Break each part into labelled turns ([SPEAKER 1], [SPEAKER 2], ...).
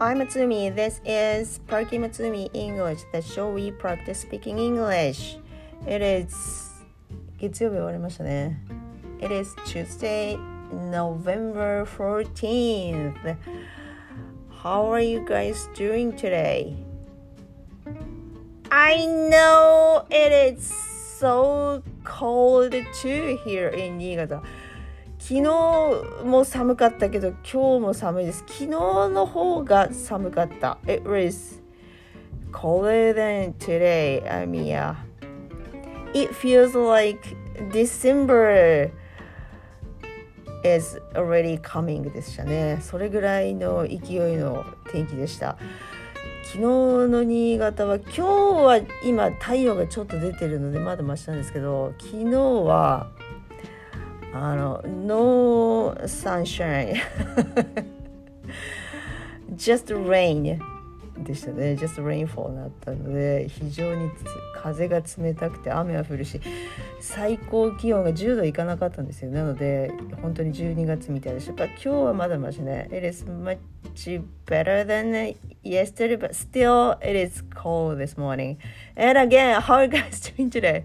[SPEAKER 1] Hi Matsumi, this is Parky Matsumi English, the show we practice speaking English. It is 月曜日終わりましたね。It is Tuesday, November 14th. How are you guys doing today? I know it is so cold too here in 新潟。昨日も寒かったけど今日も寒いです。昨日の方が寒かった。It was colder than today. I mean, yeah. It feels like December is already coming でしたね。それぐらいの勢いの天気でした。昨日の新潟は今日は今太陽がちょっと出てるのでまだマシなんですけど、昨日はno sunshine just rain でしたね。 just rainfall になったので非常に風が冷たくて雨は降るし最高気温が10度いかなかったんですよ。なので本当に12月みたいでした。今日はまだましね。 It is much better than yesterday but still it is cold this morning. And again, how are you guys doing today?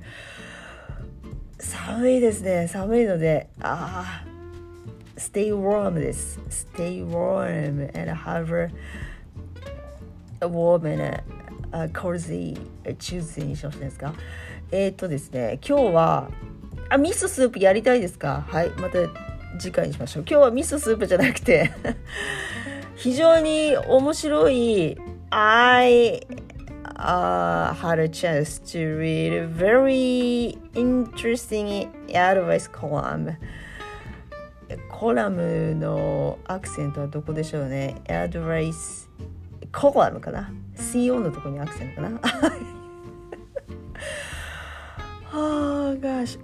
[SPEAKER 1] 寒いですね。寒いのでstay warm です。 Stay warm and have a warm and cozy Tuesday にしましたですか。ですね、今日は味噌スープやりたいですか。はい、また次回にしましょう。今日は味噌スープじゃなくて非常に面白いI had a chance to read a very interesting advice column. コラムのアクセントはどこでしょうね。advice コラムかな。CO のところにアクセントかな。gosh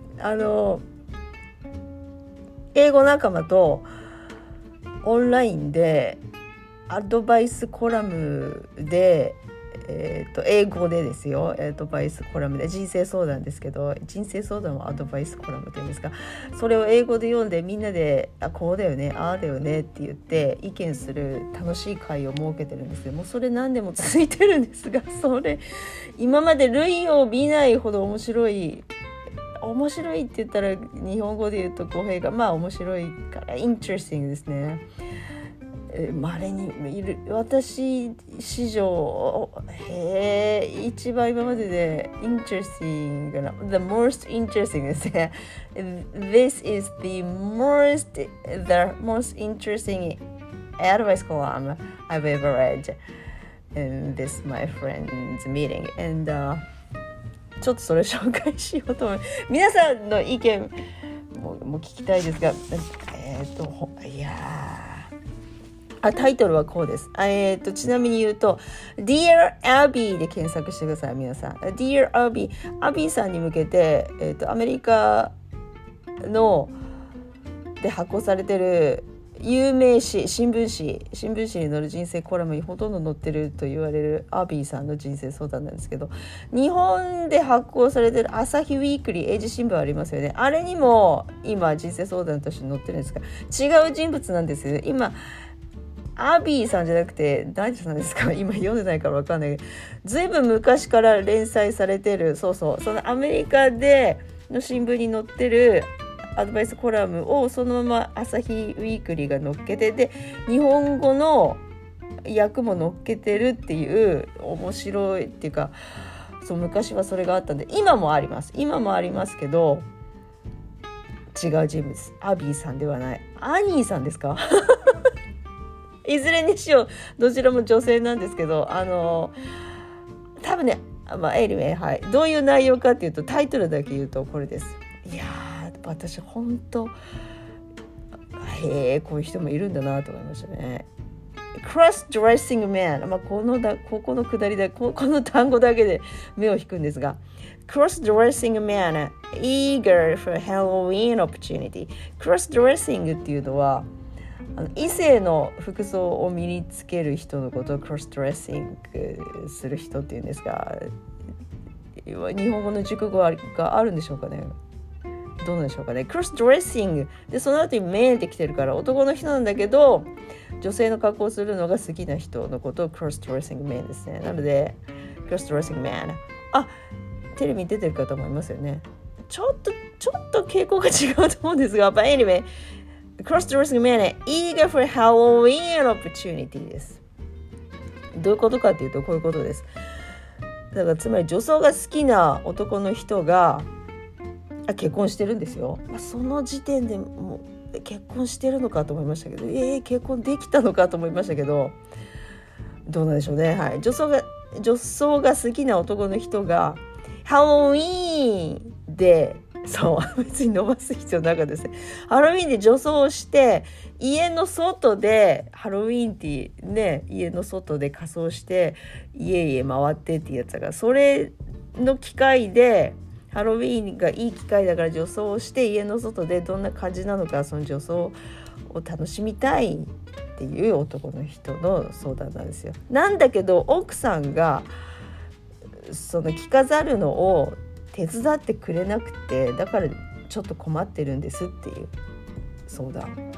[SPEAKER 1] 英語仲間とオンラインでアドバイスコラムで英語でですよ。アドバイスコラムで人生相談ですけど、人生相談はアドバイスコラムっていうんですか。それを英語で読んでみんなでこうだよね、ああだよねって言って意見する楽しい会を設けてるんですけども、それ何でも続いてるんですが、それ今まで類を見ないほど面白いって言ったら日本語で言うと語弊が面白いからインテレスティングですね。稀にいる私史上一番今までで interesting な the most interesting ですね。This is the most interesting advice column I've ever read in this my friend's meeting and、ちょっとそれ紹介しようと思います。皆さんの意見も聞きたいですが、いやタイトルはこうです。ちなみに言うと Dear Abby で検索してください。皆さん Dear Abby アビーさんに向けて、アメリカので発行されてる有名誌新聞紙に載る人生コラムにほとんど載ってると言われるアビーさんの人生相談なんですけど、日本で発行されてる朝日ウィークリー英字新聞ありますよね。あれにも今人生相談として載ってるんですが、違う人物なんですよね。今アビーさんじゃなくて何さんですか。今読んでないから分かんないけど、ずいぶん昔から連載されてるそのアメリカでの新聞に載ってるアドバイスコラムをそのまま朝日ウィークリーが載っけて、で日本語の訳も載っけてるっていう面白いっていうか、昔はそれがあったんで今もありますけど違う人物。アビーさんではない。アニーさんですかいずれにしようどちらも女性なんですけど、多分ねanyway、はい、どういう内容かっていうとタイトルだけ言うとこれです。いや私本当こういう人もいるんだなと思いましたね。Cross-dressing man、ここのくだりでこの単語だけで目を引くんですが、 Cross-dressing man eager for Halloween opportunity。 Cross-dressing っていうのは異性の服装を身につける人のことを Cross-dressing する人っていうんですが、日本語の熟語があるんでしょうかね。 どうなんでしょうかね。クロスドレッシングでその後にメンって来てるから男の人なんだけど女性の格好をするのが好きな人のことをクロスドレッシングメンですね。なのでクロスドレッシングメン、テレビに出てる方もいますよね。ちょっと傾向が違うと思うんですが、but anyway cross dressing man eager for Halloween opportunity です。どういうことかっていうとこういうことです。だからつまり女装が好きな男の人が結婚してるんですよ。その時点でもう結婚してるのかと思いましたけど、結婚できたのかと思いましたけど、どうなんでしょうね。はい、女装が好きな男の人がハロウィーンでそう別に伸ばす必要なかったですね。ハロウィーンで女装をして家の外でハロウィーンってね家の外で仮装して家々回ってっていうやつだから、それの機会でハロウィーンがいい機会だから女装をして家の外でどんな感じなのかその女装を楽しみたいっていう男の人の相談なんですよ。なんだけど奥さんがその着飾るのを手伝ってくれなくて、だからちょっと困ってるんですっていう相談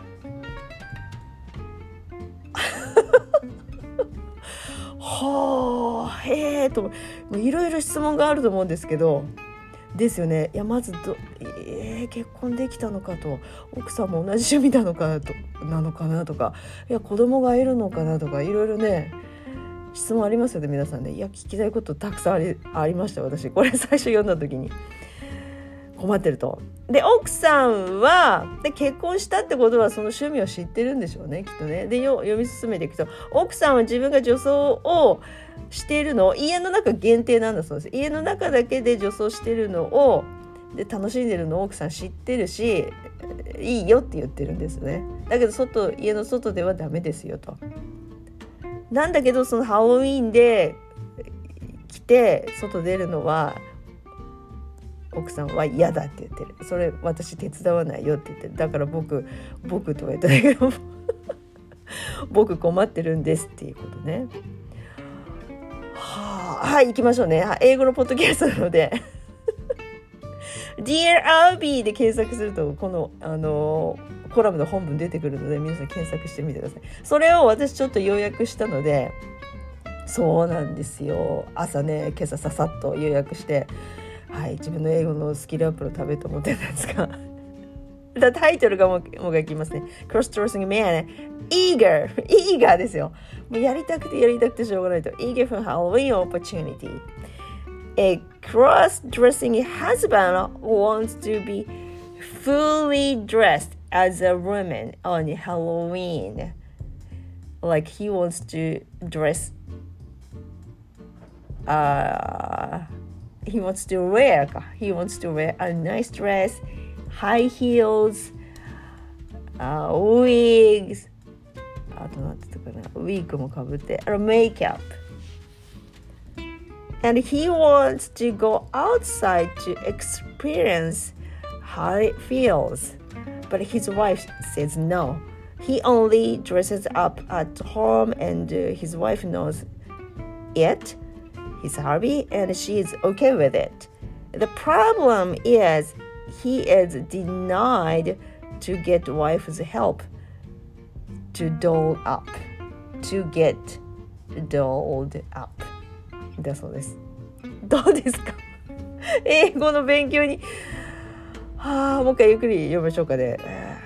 [SPEAKER 1] はあへえといろいろ質問があると思うんですけどですよね。いやまず結婚できたのかと、奥さんも同じ趣味なのかなとか、いや子供がいるのかなとか、いろいろね質問ありますよね皆さんね。いや聞きたいことたくさんありました。私これ最初読んだ時に困ってると。で奥さんは結婚したってことはその趣味を知ってるんでしょうねきっとね。で読み進めていくと奥さんは自分が女装をしているのを家の中限定なんだそうです。家の中だけで女装してるのをで楽しんでるのを奥さん知ってるしいいよって言ってるんですね。だけど家の外ではダメですよと。なんだけどそのハロウィーンで来て外出るのは奥さんは嫌だって言ってる。それ私手伝わないよって言ってる。だから僕とは言ったんだけど僕困ってるんですっていうことね。はい行きましょうね。英語のポッドキャストなのでDear Albie で検索するとこのコラムの本文出てくるので皆さん検索してみてください。それを私ちょっと要約したので、そうなんですよ。朝ね今朝ささっと要約して、自分の英語のスキルアップのためと思ってたんですがタイトルがもう一回言いますね。 Cross Dressing Man Eager ですよ。もうやりたくてしょうがないと。 Eager for Halloween opportunity. A cross-dressing husband wants to be fully dressed as a woman on Halloween. Like he wants to dress he wants to wear a nice dress, high heels, wigs, あとなんて言ったかな、ウィッグもかぶって、makeup. And he wants to go outside to experience how it feels. But his wife says no. He only dresses up at home and his wife knows it. His hobby and she is okay with it. The problem is he is denied to get wife's help to doll up. To get dolled up.だそうです。どうですか英語の勉強にもう一回ゆっくり読みましょうかね。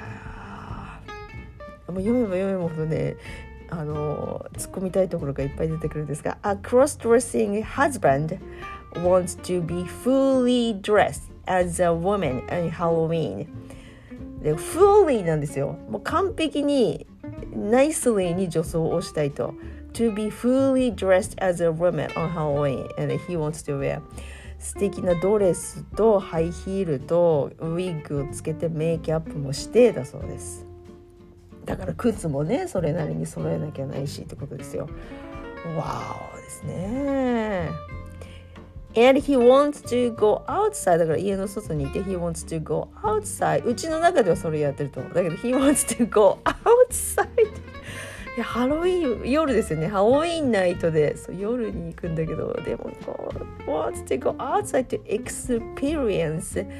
[SPEAKER 1] もう読めば読むほどね突っ込みたいところがいっぱい出てくるんですが、 A cross-dressing husband wants to be fully dressed as a woman on Halloween. で fully なんですよ。もう完璧にnicely に女装をしたいと。To be fully dressed as a woman on Halloween and he wants to wear 素敵なドレスとハイヒールとウィッグをつけてメイキャップもしてだそうです。だから靴もねそれなりに揃えなきゃないしってことですよ。わおですね。And he wants to go outside だから家の外にいて he wants to go outside うちの中ではそれやってると思う。だけど he wants to go outsideいやハロウィン夜ですよね。ハロウィンナイトでそう夜に行くんだけどでもこう wants to go outside to experience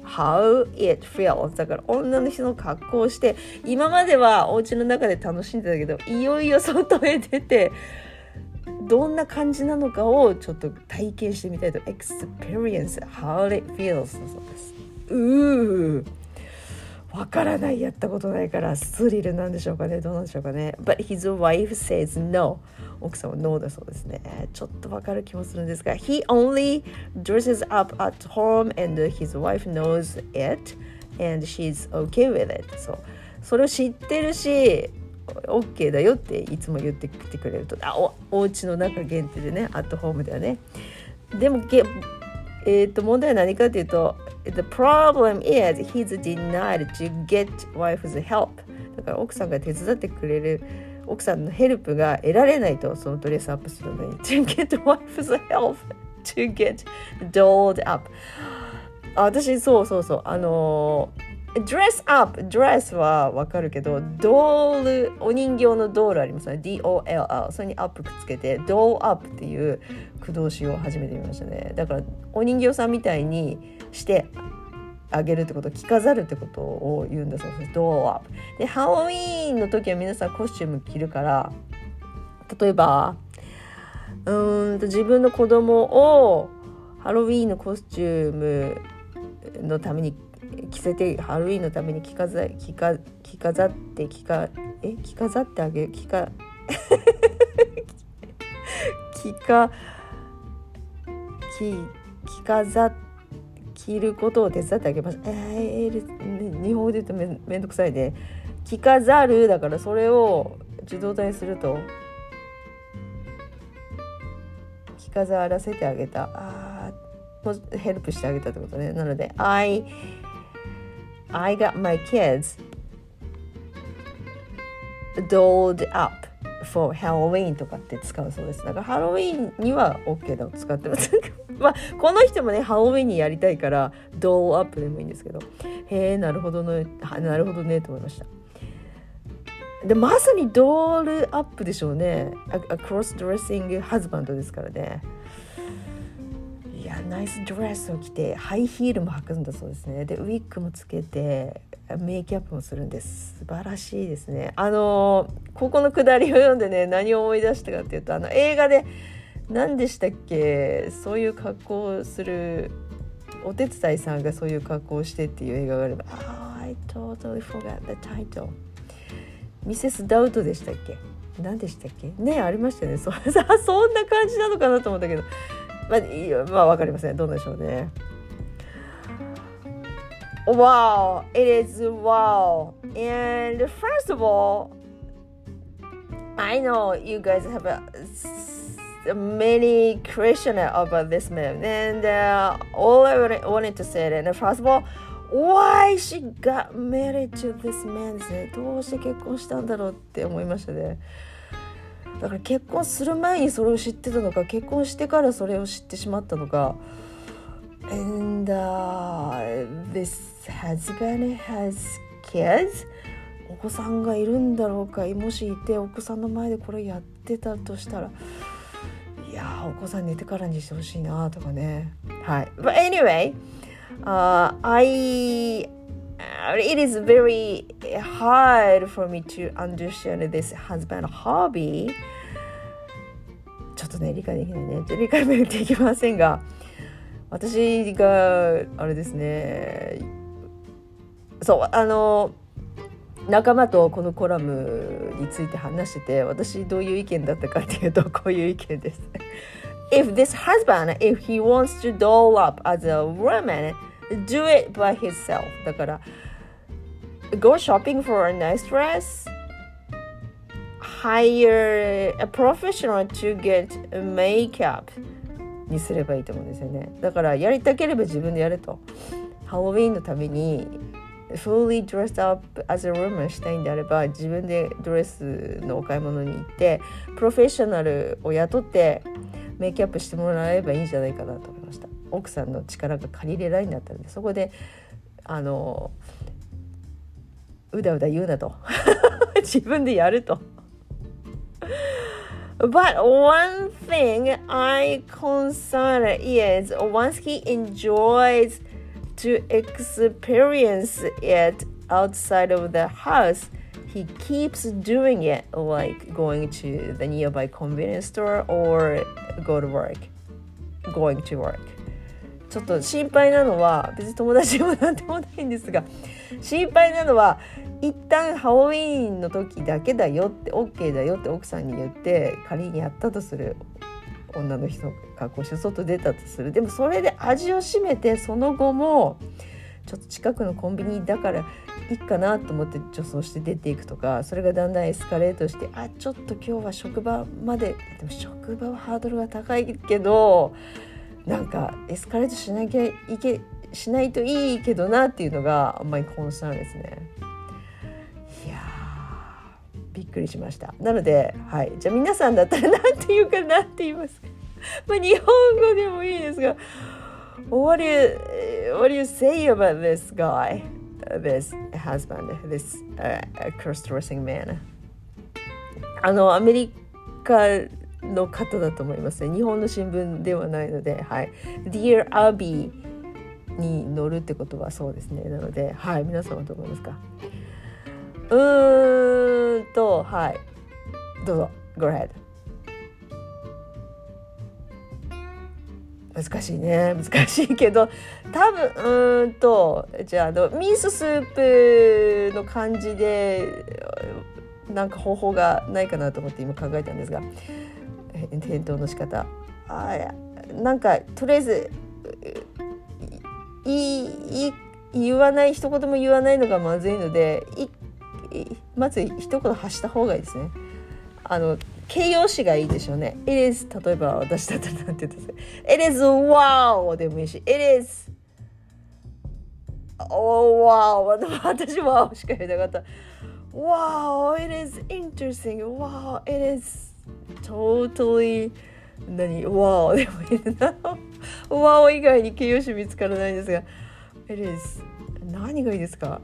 [SPEAKER 1] how it feels だから女の人の格好をして今まではお家の中で楽しんでたけどいよいよ外へ出てどんな感じなのかをちょっと体験してみたいと experience how it feels だそうです。わからないやったことないからスリルなんでしょうかねどうなんでしょうかね But his wife says no 奥さんは no だそうですねちょっとわかる気もするんですが He only dresses up at home and his wife knows it and she's okay with it それを知ってるし OK だよっていつも言ってきてくれるとお家の中限定でねアットホームではねでも問題は何かというとThe problem is he's denied to get wife's help だから奥さんが手伝ってくれる奥さんのヘルプが得られないとそのドレスアップするのに to get wife's help to get dolled up 私そうドレスアップドレスはわかるけどドールお人形のドールありますね DOLL それにアップくっつけてドールアップっていう駆動詞を初めて見ましたねだからお人形さんみたいにしてあげるってこと着飾るってことを言うんだそうですドールアップでハロウィーンの時は皆さんコスチューム着るから例えば自分の子供をハロウィーンのコスチュームのために着せてハロウィーンのために着飾ってあげる着ることを手伝ってあげます。日本語で言うとめんどくさいね。着飾るだからそれを自動体にすると着飾らせてあげた。ヘルプしてあげたってことね。なのでI got my kids dolled up for Halloween とかって使うそうです。だからハロウィーンには OK だを使ってます。まあこの人もねハロウィーンにやりたいからドールアップでもいいんですけど、なるほどねと思いました。でまさにドールアップでしょうね。クロスドレッシングハズバンドですからね。いやナイスドレスを着てハイヒールも履くんだそうですね。でウィッグもつけてメイキャップもするんです。素晴らしいですね。ここのくだりを読んでね何を思い出したかっていうと映画で何でしたっけそういう格好をするお手伝いさんがそういう格好をしてっていう映画があればI totally forgot the title ミセスダウトでしたっけ何でしたっけねありましたよねそんな感じなのかなと思ったけどまあ分かりませんどうなんでしょうねWow, it is wow. And first of all, I know you guys have many questions about this man. And all I wanted to say that, first of all, why she got married to this man ですね。どうして結婚したんだろうって思いましたね。だから結婚する前にそれを知ってたのか、結婚してからそれを知ってしまったのか。And this husband has kids お子さんがいるんだろうかもしいてお子さんの前でこれやってたとしたらいやお子さん寝てからにしてほしいなとかねはい But anyway it is very hard for me to understand this husband hobby ちょっとね理解できないね理解できませんが私があれですねそう仲間とこのコラムについて話してて私どういう意見だったかっていうとこういう意見ですIf this husband, if he wants to doll up as a woman, do it by himself だから Go shopping for a nice dress Hire a professional to get makeupにすればいいと思うんですよねだからやりたければ自分でやれとハロウィーンのためにfully dressed up as a woman したいんであれば自分でドレスのお買い物に行ってプロフェッショナルを雇ってメイクアップしてもらえばいいんじゃないかなと思いました奥さんの力が借りれないんだったんでそこでうだうだ言うなと自分でやるとBut one thing I concern is once he enjoys to experience it outside of the house, he keeps doing it, like going to the nearby convenience store or going to work. ちょっと心配なのは、別に友達でもなんでもないんですが、心配なのは一旦ハロウィーンの時だけだよって OK だよって奥さんに言って仮にやったとする、女の人が格好して外出たとする。でもそれで味を占めて、その後もちょっと近くのコンビニだからいいかなと思って女装して出ていくとか、それがだんだんエスカレートして、ちょっと今日は職場まで、でも職場はハードルが高いけどなんかエスカレートしないといいけどなっていうのがあんまりコンサーンですね。いやびっくりしました。なので、はい、じゃあ皆さんだったらなんて言うかなって言いますか。日本語でもいいですが、What do you say about this guy, this husband, this cross-dressing man? アメリカの方だと思いますね。日本の新聞ではないので、はい。Dear Abby に乗るってことはそうですね。なので、はい。皆さんはどう思いますか？はい。どうぞ。Go ahead。難しいね。難しいけど、多分、じゃあ、ミーススープの感じで、なんか方法がないかなと思って今考えたんですが、返答の仕方。なんか、とりあえず、言わない、一言も言わないのがまずいので、まず一言発した方がいいですね。形容詞がいいでしょうね。It is、 例えば私だったらなんて言うんですか。It is wow でもいいし、It is oh wow 私は wow しか言えなかった。Wow, it is interesting. Wow, it is totally wow でもいいな。wow 以外に形容詞見つからないんですが、It is 何がいいですか？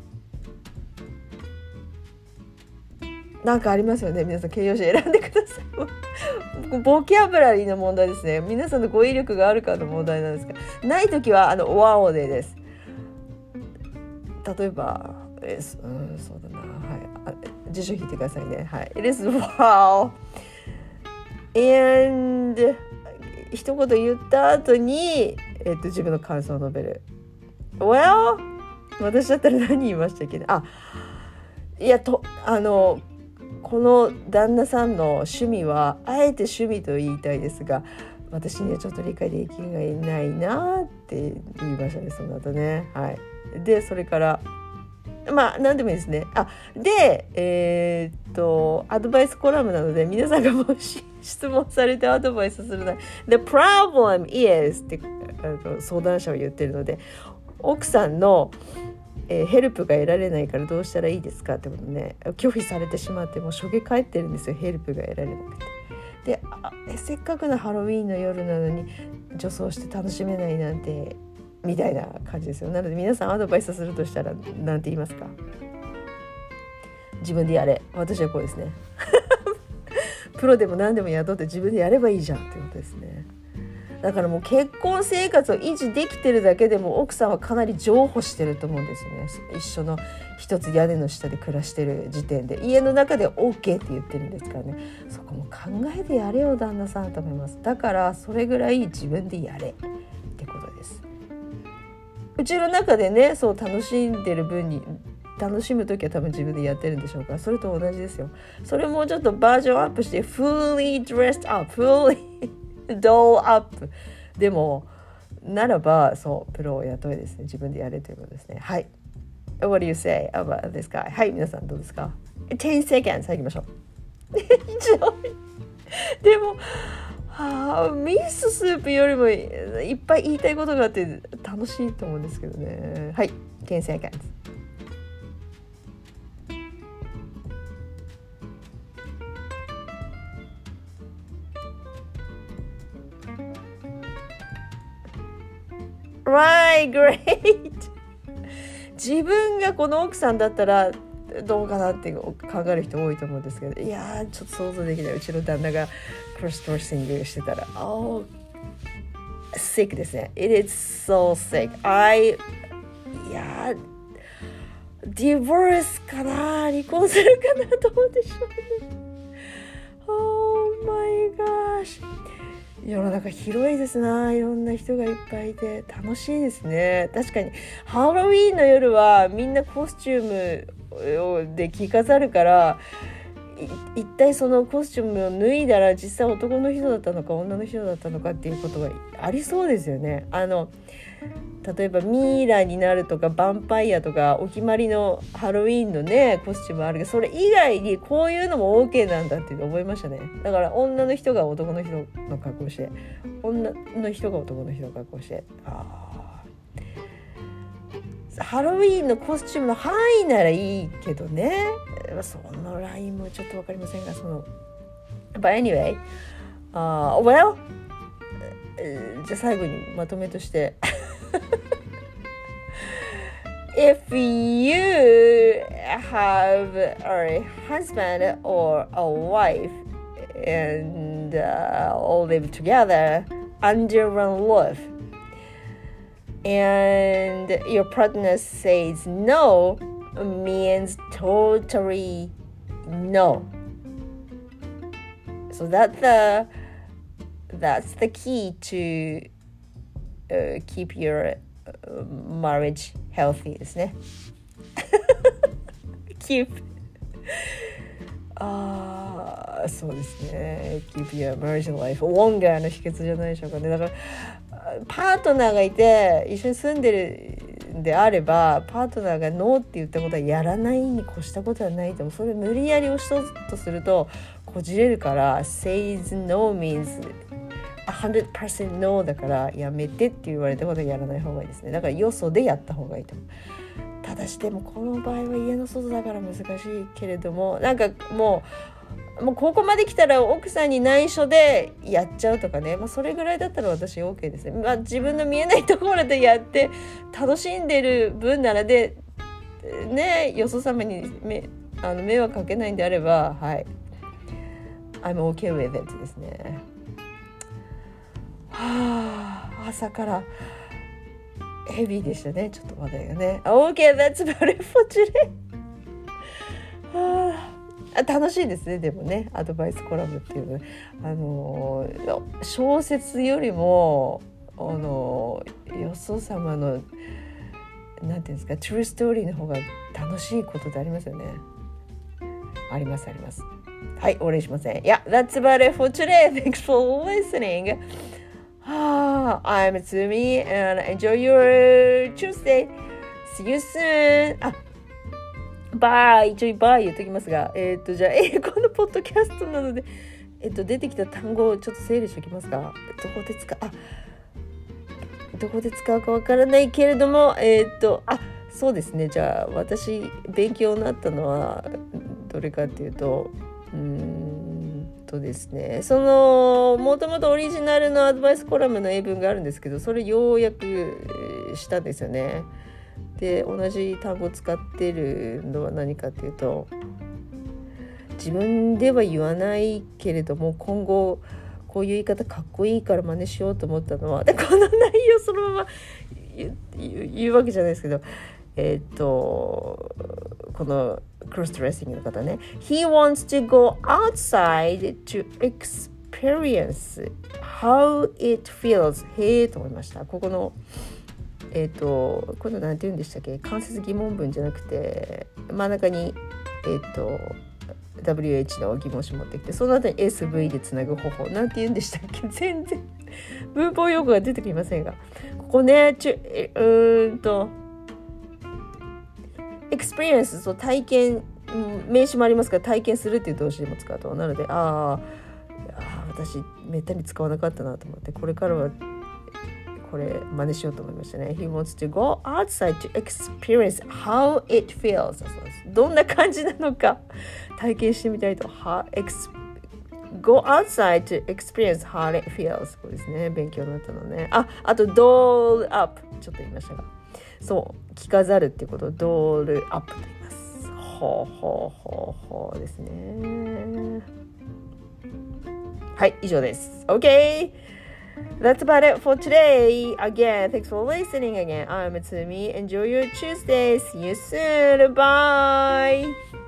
[SPEAKER 1] なんかありますよね。皆さん形容詞選んでください。ボキャブラリーの問題ですね。皆さんの語彙力があるかの問題なんですが、ないときはwow でです。例えば、そうだな、はい、辞書引いてくださいね。はい、It is wow and 一言言った後に、自分の感想を述べる。Well、私だったら何言いましたっけね。この旦那さんの趣味はあえて趣味と言いたいですが、私にはちょっと理解できないなって言いましたね、その後ね。はい。でそれから何でもいいですね。でアドバイスコラムなので、皆さんがもし質問されてアドバイスするなら The problem is って相談者は言ってるので、奥さんのヘルプが得られないからどうしたらいいですかってことね、拒否されてしまってもうしょげ返ってるんですよ。ヘルプが得られなくて。でせっかくのハロウィーンの夜なのに女装して楽しめないなんてみたいな感じですよ。なので皆さんアドバイスするとしたらなんて言いますか？自分でやれ。私はこうですね。プロでも何でも雇って自分でやればいいじゃんってことですね。だからもう結婚生活を維持できてるだけでも奥さんはかなり譲歩してると思うんですよね。一緒の一つ屋根の下で暮らしてる時点で、家の中で OK って言ってるんですからね。そこも考えてやれよ旦那さんと思います。だからそれぐらい自分でやれってことです。うちの中でね、そう楽しんでる分に楽しむときは多分自分でやってるんでしょうから、それと同じですよ。それもちょっとバージョンアップして fully dressed up fully doll up でもならば、そうプロを雇いですね。自分でやれということですね。はい。What do you say about this guy? はい、皆さんどうですか？ 10 seconds 入りましょう。でもミーススープよりもいっぱい言いたいことがあって楽しいと思うんですけどね。はい、10 seconds。Right, great! 自分がこの奥さんだったらどうかなって考える人多いと思うんですけど、いやちょっと想像できない。うちの旦那がクロスドレッシングしてたらsick ですね。 It is so sick. やディボルスかな、離婚するかな、どうでしょうね。Oh my gosh、 世の中広いですな、いろんな人がいっぱいいて楽しいですね。確かにハロウィーンの夜はみんなコスチュームで着飾るから、一体そのコスチュームを脱いだら実際男の人だったのか女の人だったのかっていうことがありそうですよね。例えばミイラになるとかヴァンパイアとかお決まりのハロウィーンのねコスチュームあるけど、それ以外にこういうのも OK なんだって思いましたね。だから女の人が男の人の格好して、女の人が男の人の格好して、ハロウィーンのコスチュームの範囲ならいいけどね、そのラインもちょっと分かりませんが、But anyway、well、じゃあ最後にまとめとしてIf you have a husband or a wife and all live together under one roof and your partner says no, means totally no. So that's the key to keep your marriage healthy ですね。keep そうですね。keep your marriage life longer の秘訣じゃないでしょうかね。だからパートナーがいて一緒に住んでるんであれば、パートナーがノーって言ったことはやらないに越したことはないと思う。それ無理やり押しととするとこじれるから、 says no means 100% no だからやめてって言われたことはやらない方がいいですね。だからよそでやった方がいいと思う。ただしでもこの場合は家の外だから難しいけれども、なんかもうここまで来たら奥さんに内緒でやっちゃうとかね、それぐらいだったら私 OK ですね。自分の見えないところでやって楽しんでる分ならでね、よそ様に迷惑かけないんであれば、はい、I'm okay with it ですね。朝からヘビーでしたね、ちょっと話題がね。Okay, that's about it for today. 楽しいですね。でもね、アドバイスコラムっていうの、小説よりもよそ様のなんていうんですか、トゥルーストーリーの方が楽しいことってありますよね。あります。はい、お礼しません。Yeah, that's about it for today. Thanks for listening. I'm Tsumi and enjoy your Tuesday. See you soon. バイ、バイ言っときますが、じゃあ英語のポッドキャストなので、出てきた単語をちょっと整理しておきますか。どこで使うかわからないけれども、そうですね。じゃあ私勉強になったのはどれかっていうと、ですね、もともとオリジナルのアドバイスコラムの英文があるんですけど、それ要約したんですよね。で、同じ単語を使ってるのは何かっていうと、自分では言わないけれども今後こういう言い方かっこいいから真似しようと思ったのは、でこの内容そのまま言うわけじゃないですけど、このクロスドレッシングの方ね、 He wants to go outside to experience how it feels. へーと思いました。ここのこれなんて言うんでしたっけ、間接疑問文じゃなくて真ん中にWH の疑問詞持ってきて、その後に SV でつなぐ方法なんて言うんでしたっけ、全然文法用語が出てきませんが、ここねexperience、 そう体験、名詞もありますから体験するっていう動詞でも使うと、なので私めったに使わなかったなと思って、これからはこれ真似しようと思いましたね。 He wants to go outside to experience how it feels. そうです。どんな感じなのか体験してみたいと。Go outside to experience how it feels. これですね、勉強になったのね。あと doll up ちょっと言いましたが、そう着飾るっていうことを doll up と言います。ほうですね。はい、以上です。 OK、 That's about it for today. Again, thanks for listening again. I'm Tsumi. Enjoy your Tuesday. See you soon. Bye.